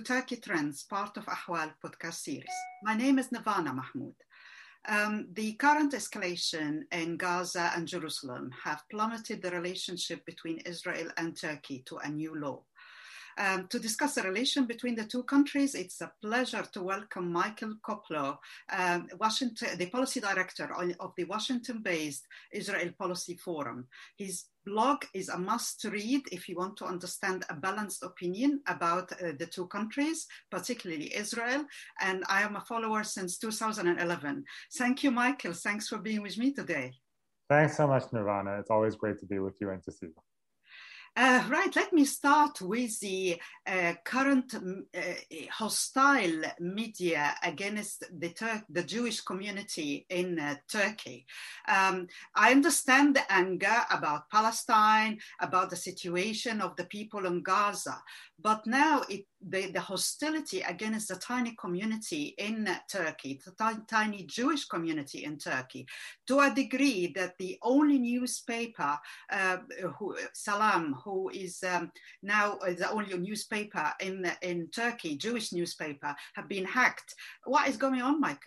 Turkey Trends, part of Ahwal podcast series. My name is Nirvana Mahmoud. The current escalation in Gaza and Jerusalem have plummeted the relationship between Israel and Turkey to a new low. To discuss the relation between the two countries, it's a pleasure to welcome Michael Koplow, the policy director of the Washington-based Israel Policy Forum. His blog is a must-read if you want to understand a balanced opinion about the two countries, particularly Israel, and I am a follower since 2011. Thank you, Michael. Thanks for being with me today. Thanks so much, Nirvana. It's always great to be with you and to see you. Right, let me start with the current hostile media against the Jewish community in Turkey. I understand the anger about Palestine, about the situation of the people in Gaza, but now the hostility against the tiny community in Turkey, the tiny Jewish community in Turkey, to a degree that the only newspaper, Salam, who is now the only newspaper in Turkey, Jewish newspaper, have been hacked. What is going on, Michael?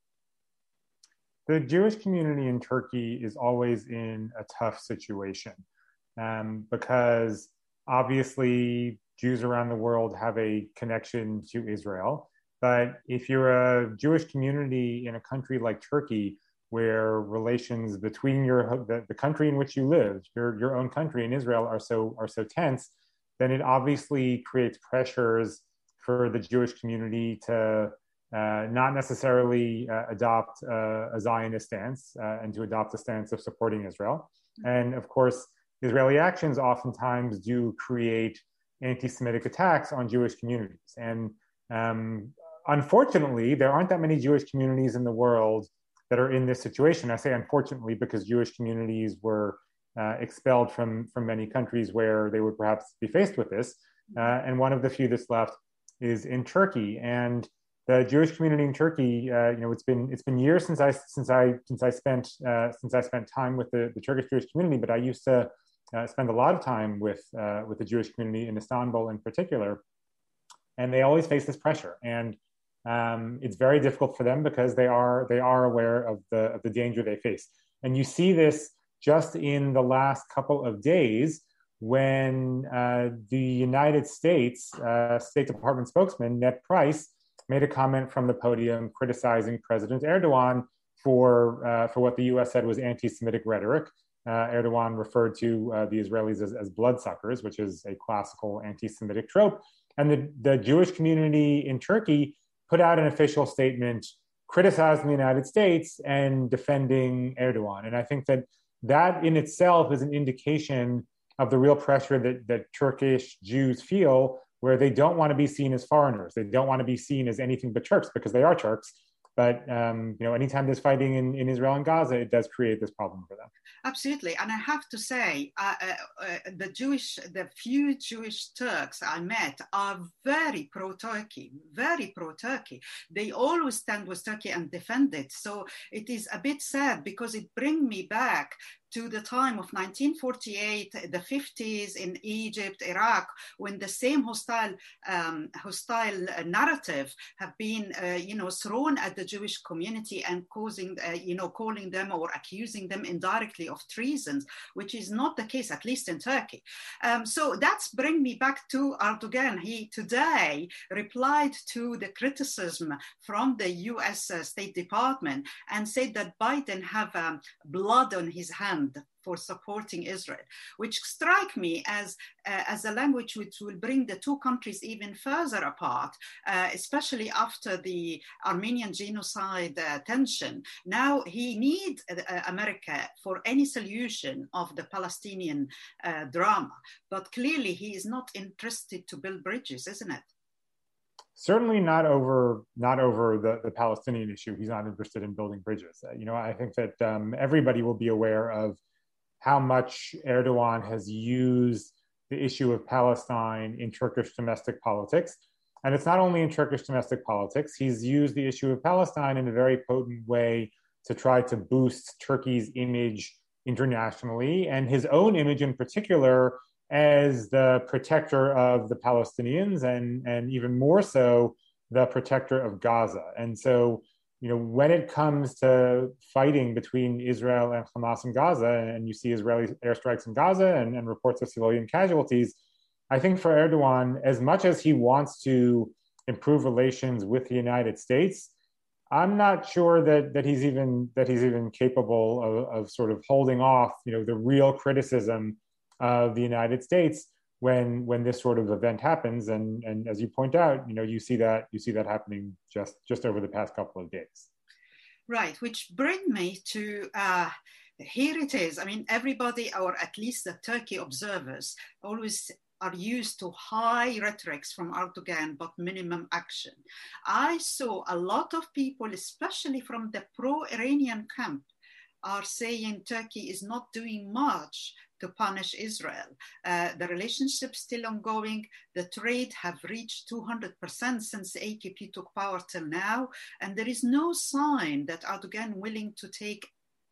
The Jewish community in Turkey is always in a tough situation because obviously Jews around the world have a connection to Israel. But if you're a Jewish community in a country like Turkey, where relations between the country in which you live, your own country in Israel, are so tense, then it obviously creates pressures for the Jewish community to not necessarily adopt a Zionist stance and to adopt a stance of supporting Israel. And of course, Israeli actions oftentimes do create anti-Semitic attacks on Jewish communities. And unfortunately, there aren't that many Jewish communities in the world that are in this situation. I say unfortunately because Jewish communities were expelled from many countries where they would perhaps be faced with this. And one of the few that's left is in Turkey. And the Jewish community in Turkey, it's been years since I spent time with the Turkish Jewish community, but I used to spend a lot of time with the Jewish community in Istanbul in particular, and they always face this pressure. And it's very difficult for them because they are aware of the danger they face. And you see this just in the last couple of days when the United States State Department spokesman, Ned Price, made a comment from the podium criticizing President Erdogan for what the US said was anti-Semitic rhetoric. Erdogan referred to the Israelis as bloodsuckers, which is a classical anti-Semitic trope. And the Jewish community in Turkey put out an official statement criticizing the United States and defending Erdogan. And I think that in itself is an indication of the real pressure that Turkish Jews feel, where they don't want to be seen as foreigners. They don't want to be seen as anything but Turks because they are Turks. But anytime there's fighting in Israel and Gaza, it does create this problem for them. Absolutely, and I have to say, the few Jewish Turks I met are very pro-Turkey, very pro-Turkey. They always stand with Turkey and defend it. So it is a bit sad because it brings me back to the time of 1948, the 50s in Egypt, Iraq, when the same hostile narrative have been, thrown at the Jewish community and causing, calling them or accusing them indirectly of treasons, which is not the case, at least in Turkey. So that's bring me back to Erdogan. He today replied to the criticism from the US State Department and said that Biden have blood on his hand for supporting Israel, which strike me as a language which will bring the two countries even further apart, especially after the Armenian genocide tension. Now he needs America for any solution of the Palestinian drama, but clearly he is not interested to build bridges, isn't it? Certainly not over the Palestinian issue. He's not interested in building bridges. I think that everybody will be aware of how much Erdogan has used the issue of Palestine in Turkish domestic politics. And it's not only in Turkish domestic politics. He's used the issue of Palestine in a very potent way to try to boost Turkey's image internationally and his own image in particular as the protector of the Palestinians and even more so the protector of Gaza. And so, when it comes to fighting between Israel and Hamas in Gaza, and you see Israeli airstrikes in Gaza and reports of civilian casualties, I think for Erdogan, as much as he wants to improve relations with the United States, I'm not sure that he's even capable of sort of holding off, the real criticism of the United States when this sort of event happens. And as you point out, you see that happening just over the past couple of days. Right, which bring me to here it is. I mean, everybody, or at least the Turkey observers, always are used to high rhetorics from Erdogan, but minimum action. I saw a lot of people, especially from the pro-Iranian camp, are saying Turkey is not doing much to punish Israel. The relationship still ongoing. The trade have reached 200% since the AKP took power till now. And there is no sign that Erdogan willing to take,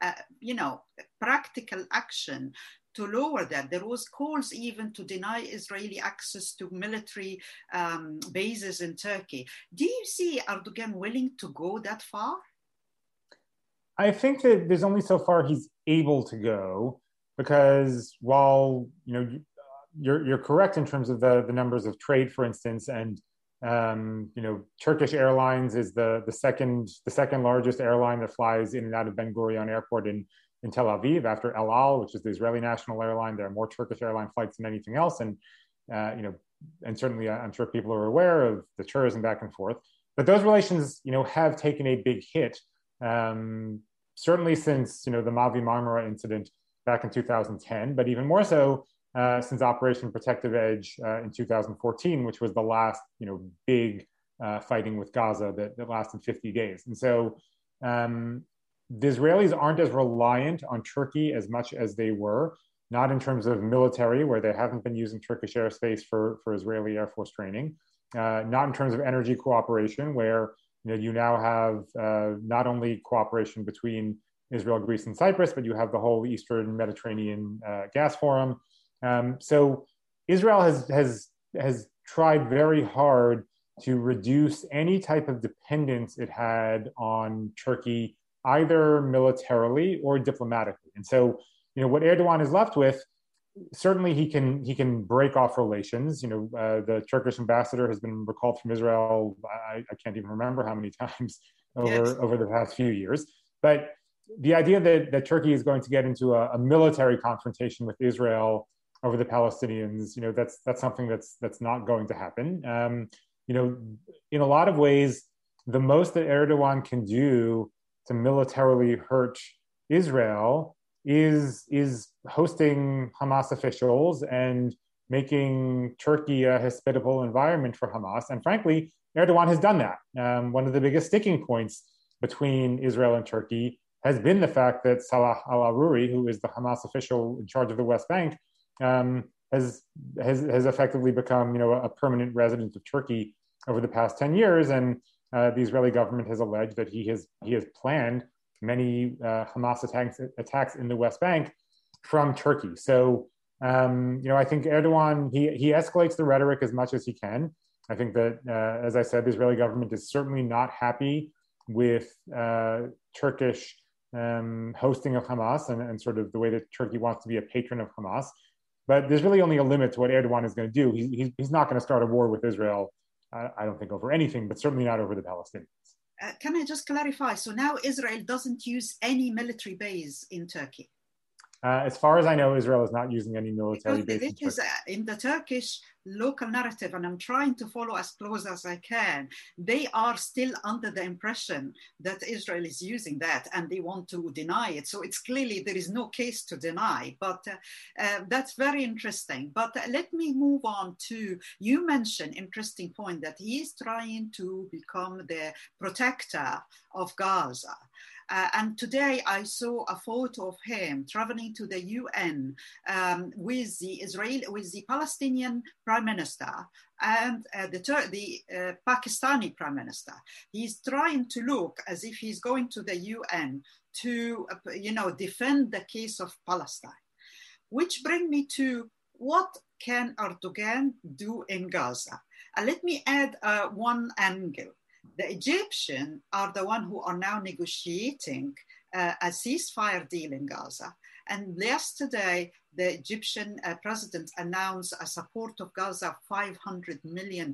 practical action to lower that. There was calls even to deny Israeli access to military bases in Turkey. Do you see Erdogan willing to go that far? I think that there's only so far he's able to go, because while you're correct in terms of the numbers of trade, for instance, and Turkish Airlines is the second largest airline that flies in and out of Ben Gurion Airport in Tel Aviv after El Al, which is the Israeli national airline. There are more Turkish airline flights than anything else, and and certainly I'm sure people are aware of the tourism back and forth. But those relations, have taken a big hit. Certainly since the Mavi Marmara incident back in 2010, but even more so since Operation Protective Edge in 2014, which was the last big fighting with Gaza that lasted 50 days. And so the Israelis aren't as reliant on Turkey as much as they were, not in terms of military, where they haven't been using Turkish airspace for Israeli Air Force training, not in terms of energy cooperation, where you now have not only cooperation between Israel, Greece, and Cyprus, but you have the whole Eastern Mediterranean gas forum. So Israel has tried very hard to reduce any type of dependence it had on Turkey, either militarily or diplomatically. And so, what Erdogan is left with, certainly he can break off relations. The Turkish ambassador has been recalled from Israel. I can't even remember how many times over the past few years. But the idea that Turkey is going to get into a military confrontation with Israel over the Palestinians, that's something that's not going to happen. In a lot of ways, the most that Erdogan can do to militarily hurt Israel is hosting Hamas officials and making Turkey a hospitable environment for Hamas. And frankly, Erdogan has done that. One of the biggest sticking points between Israel and Turkey has been the fact that Salah al-Aruri, who is the Hamas official in charge of the West Bank, has effectively become a permanent resident of Turkey over the past 10 years. And the Israeli government has alleged that he has planned many Hamas attacks in the West Bank from Turkey. So, I think Erdogan, he escalates the rhetoric as much as he can. I think that, as I said, the Israeli government is certainly not happy with Turkish hosting of Hamas and sort of the way that Turkey wants to be a patron of Hamas. But there's really only a limit to what Erdogan is going to do. He's not going to start a war with Israel, I don't think, over anything, but certainly not over the Palestinians. Can I just clarify? So now Israel doesn't use any military base in Turkey? As far as I know, Israel is not using any military base in Turkey. It is in the Turkish local narrative, and I'm trying to follow as close as I can. They are still under the impression that Israel is using that, and they want to deny it. So it's clearly there is no case to deny, but that's very interesting. But let me move on to, you mentioned, interesting point, that he is trying to become the protector of Gaza. And today I saw a photo of him traveling to the UN with the Palestinian Prime Minister and the Pakistani Prime Minister. He's trying to look as if he's going to the UN to, defend the case of Palestine. Which brings me to what can Erdogan do in Gaza? And let me add one angle. The Egyptians are the one who are now negotiating a ceasefire deal in Gaza. And yesterday, the Egyptian president announced a support of Gaza of £500 million.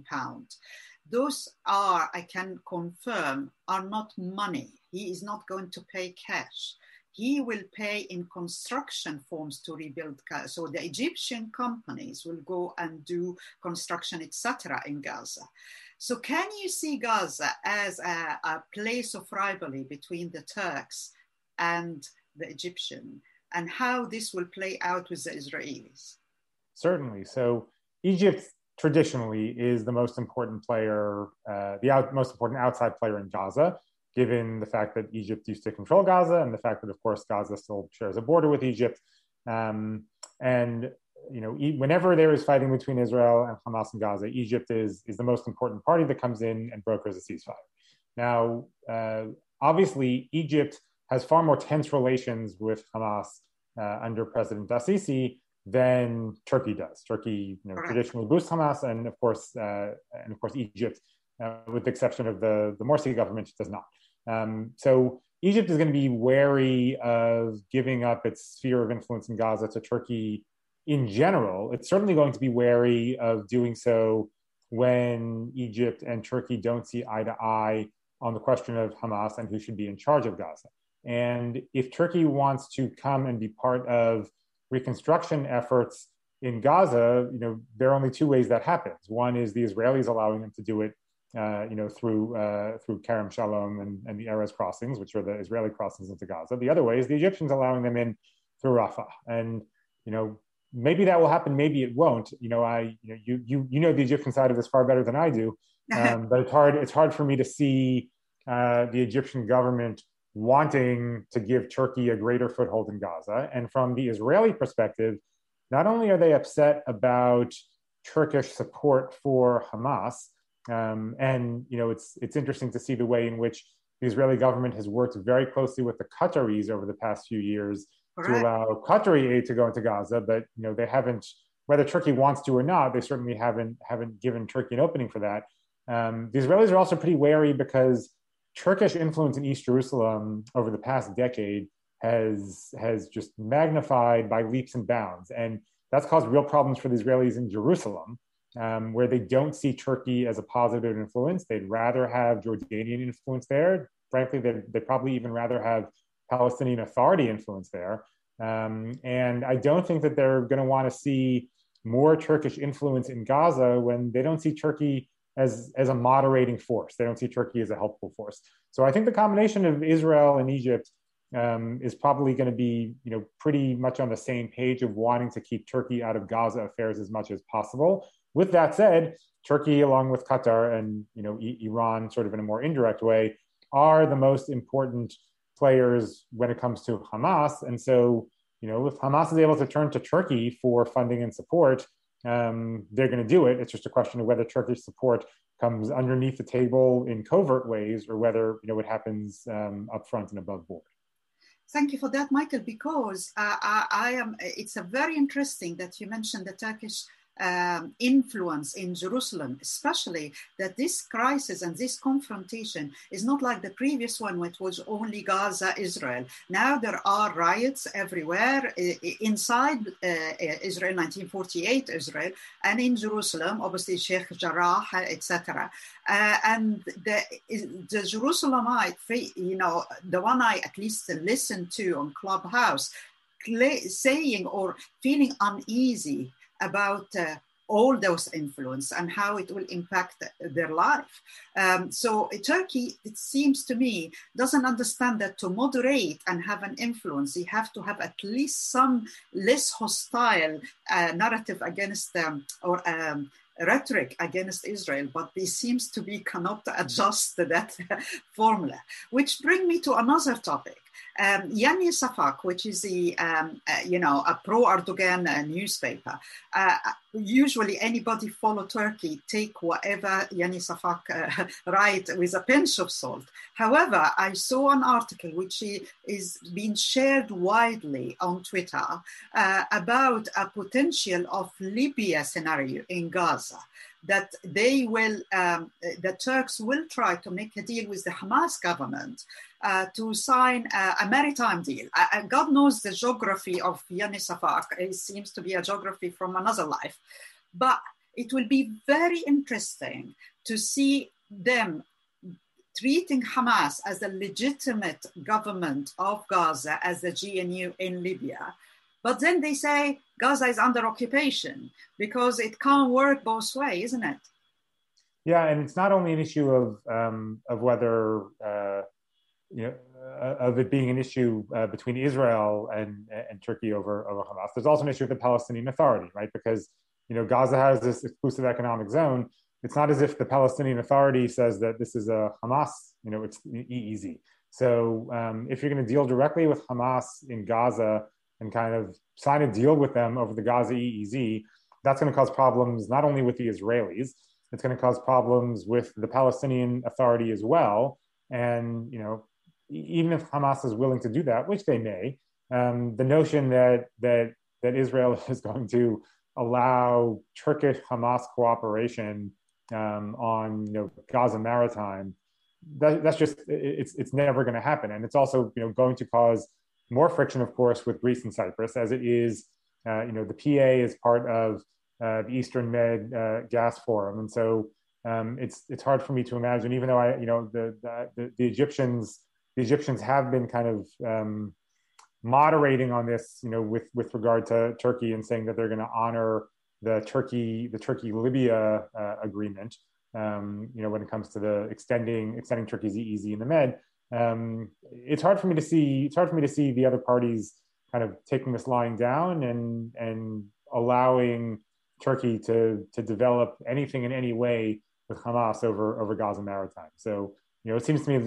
Those are, I can confirm, are not money. He is not going to pay cash. He will pay in construction forms to rebuild Gaza. So the Egyptian companies will go and do construction, etc. in Gaza. So can you see Gaza as a place of rivalry between the Turks and the Egyptian, and how this will play out with the Israelis? Certainly. So Egypt traditionally is the most important player, most important outside player in Gaza, given the fact that Egypt used to control Gaza and the fact that, of course, Gaza still shares a border with Egypt. And, you know, whenever there is fighting between Israel and Hamas in Gaza, Egypt is the most important party that comes in and brokers a ceasefire. Now, obviously, Egypt has far more tense relations with Hamas under President al-Sisi than Turkey does. Turkey, you know, traditionally boosts Hamas, and of course, Egypt, with the exception of the Morsi government, does not. So Egypt is going to be wary of giving up its sphere of influence in Gaza to Turkey in general. It's certainly going to be wary of doing so when Egypt and Turkey don't see eye to eye on the question of Hamas and who should be in charge of Gaza. And if Turkey wants to come and be part of reconstruction efforts in Gaza, you know, there are only two ways that happens. One is the Israelis allowing them to do it, through Kerem Shalom and the Erez crossings, which are the Israeli crossings into Gaza. The other way is the Egyptians allowing them in through Rafah. And, you know, maybe that will happen, maybe it won't. You know, you know the Egyptian side of this far better than I do. But it's hard for me to see the Egyptian government wanting to give Turkey a greater foothold in Gaza. And from the Israeli perspective, not only are they upset about Turkish support for Hamas, and you know, it's interesting to see the way in which the Israeli government has worked very closely with the Qataris over the past few years to allow Qatari aid to go into Gaza, but you know, they haven't, whether Turkey wants to or not, they certainly haven't given Turkey an opening for that. The Israelis are also pretty wary because Turkish influence in East Jerusalem over the past decade has just magnified by leaps and bounds. And that's caused real problems for the Israelis in Jerusalem, where they don't see Turkey as a positive influence. They'd rather have Jordanian influence there. Frankly, they'd probably even rather have Palestinian Authority influence there. And I don't think that they're going to want to see more Turkish influence in Gaza when they don't see Turkey as a moderating force. They don't see Turkey as a helpful force. So I think the combination of Israel and Egypt is probably going to be, you know, pretty much on the same page of wanting to keep Turkey out of Gaza affairs as much as possible. With that said, Turkey, along with Qatar and, you know, Iran, sort of in a more indirect way, are the most important players when it comes to Hamas. And so, you know, if Hamas is able to turn to Turkey for funding and support, they're going to do it. It's just a question of whether Turkish support comes underneath the table in covert ways or whether, you know, it happens up front and above board. Thank you for that, Michael, because it's a very interesting that you mentioned the Turkish influence in Jerusalem, especially that this crisis and this confrontation is not like the previous one, which was only Gaza, Israel. Now there are riots everywhere inside Israel, 1948 Israel, and in Jerusalem, obviously Sheikh Jarrah, etc. And the Jerusalemite, you know, the one I at least listened to on Clubhouse, saying or feeling uneasy about all those influence and how it will impact their life. So Turkey, it seems to me, doesn't understand that to moderate and have an influence, you have to have at least some less hostile narrative against them or rhetoric against Israel, but they seems to be cannot adjust that formula. Which bring me to another topic. Yani Safak, which is a pro-Erdogan newspaper, usually anybody follow Turkey take whatever Yani Safak write with a pinch of salt. However, I saw an article which is being shared widely on Twitter about a potential of Libya scenario in Gaza, that the Turks will try to make a deal with the Hamas government to sign a maritime deal. God knows the geography of Yani Safak. It seems to be a geography from another life. But it will be very interesting to see them treating Hamas as a legitimate government of Gaza, as the GNU in Libya. But then they say Gaza is under occupation, because it can't work both ways, isn't it? Yeah, and it's not only an issue of whether of it being an issue between Israel and Turkey over Hamas. There's also an issue with the Palestinian Authority, right? Because Gaza has this exclusive economic zone. It's not as if the Palestinian Authority says that this is a Hamas, it's EEZ. So if you're going to deal directly with Hamas in Gaza and kind of sign a deal with them over the Gaza EEZ, that's going to cause problems not only with the Israelis, it's going to cause problems with the Palestinian Authority as well. And, even if Hamas is willing to do that, which they may, the notion that Israel is going to allow Turkish Hamas cooperation on Gaza Maritime, that's just it's never going to happen. And it's also going to cause more friction, of course, with Greece and Cyprus, as it is. The PA is part of the Eastern Med Gas Forum, and so it's hard for me to imagine. Even though the Egyptians have been kind of moderating on this, with regard to Turkey, and saying that they're going to honor the Turkey Libya agreement. When it comes to the extending Turkey's EEZ in the Med. It's hard for me to see the other parties kind of taking this line down and allowing Turkey to develop anything in any way with Hamas over Gaza Maritime. So it seems to me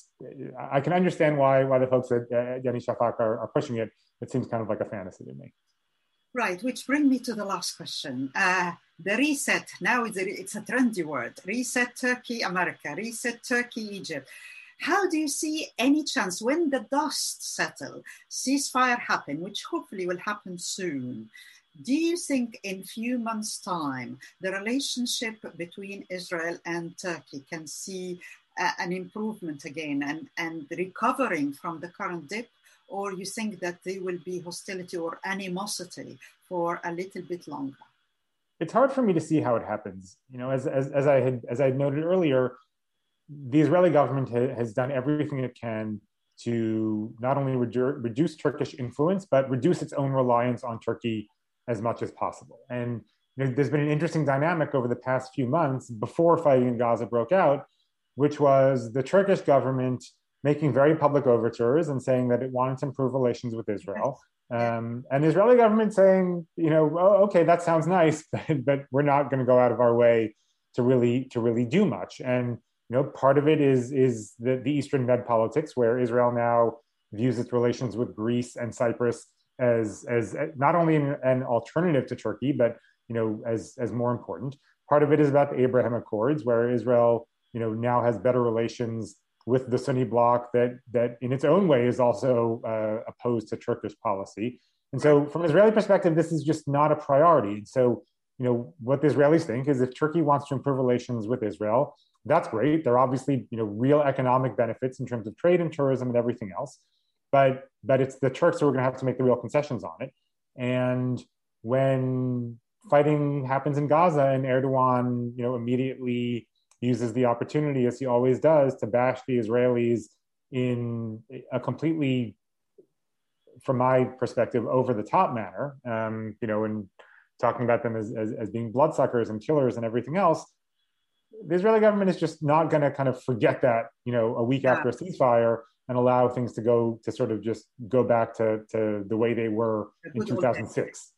I can understand why the folks at Yani Shafak are pushing it. It seems kind of like a fantasy to me. Right, which brings me to the last question. The reset, now it's a trendy word. Reset Turkey, America. Reset Turkey, Egypt. How do you see any chance when the dust settle, ceasefire happen, which hopefully will happen soon? Do you think in few months' time, the relationship between Israel and Turkey can see an improvement again and recovering from the current dip? Or you think that there will be hostility or animosity for a little bit longer? It's hard for me to see how it happens. As I had noted earlier, the Israeli government has done everything it can to not only reduce Turkish influence, but reduce its own reliance on Turkey as much as possible. And there's been an interesting dynamic over the past few months before fighting in Gaza broke out, which was the Turkish government making very public overtures and saying that it wanted to improve relations with Israel. And the Israeli government saying, okay, that sounds nice, but we're not going to go out of our way to really do much. And part of it is the Eastern Med politics, where Israel now views its relations with Greece and Cyprus as not only an alternative to Turkey, but as more important. Part of it is about the Abraham Accords, where Israel now has better relations with the Sunni bloc that in its own way is also opposed to Turkish policy. And so from an Israeli perspective, this is just not a priority. And so, what the Israelis think is if Turkey wants to improve relations with Israel, that's great. There are obviously, real economic benefits in terms of trade and tourism and everything else. But it's the Turks who are going to have to make the real concessions on it. And when fighting happens in Gaza and Erdogan, immediately uses the opportunity, as he always does, to bash the Israelis in a completely, from my perspective, over the top manner, and talking about them as being bloodsuckers and killers and everything else, the Israeli government is just not going to kind of forget that, a week after a ceasefire and allow things to sort of just go back to the way they were in 2006.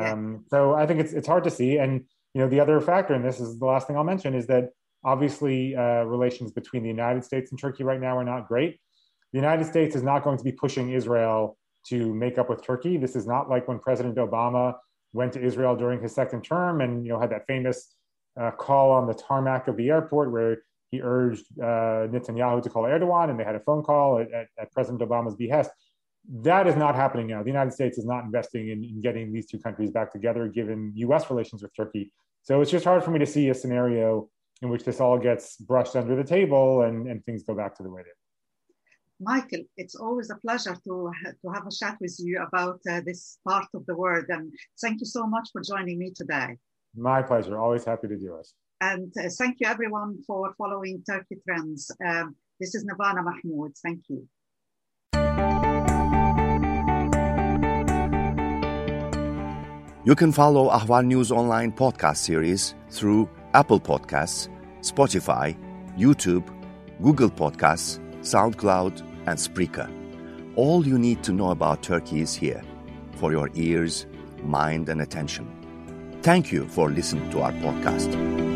So I think it's hard to see. And, the other factor, and this is the last thing I'll mention, is that obviously relations between the United States and Turkey right now are not great. the United States is not going to be pushing Israel to make up with Turkey. This is not like when President Obama went to Israel during his second term and had that famous call on the tarmac of the airport where he urged Netanyahu to call Erdogan, and they had a phone call at President Obama's behest. That is not happening now. The United States is not investing in getting these two countries back together, given U.S. relations with Turkey. So it's just hard for me to see a scenario in which this all gets brushed under the table and things go back to the way they were. Michael, it's always a pleasure to have a chat with you about this part of the world. And thank you so much for joining me today. My pleasure. Always happy to do it. And thank you, everyone, for following Turkey Trends. This is Navana Mahmoud. Thank you. You can follow Ahval News Online podcast series through Apple Podcasts, Spotify, YouTube, Google Podcasts, SoundCloud, and Spreaker. All you need to know about Turkey is here for your ears, mind, and attention. Thank you for listening to our podcast.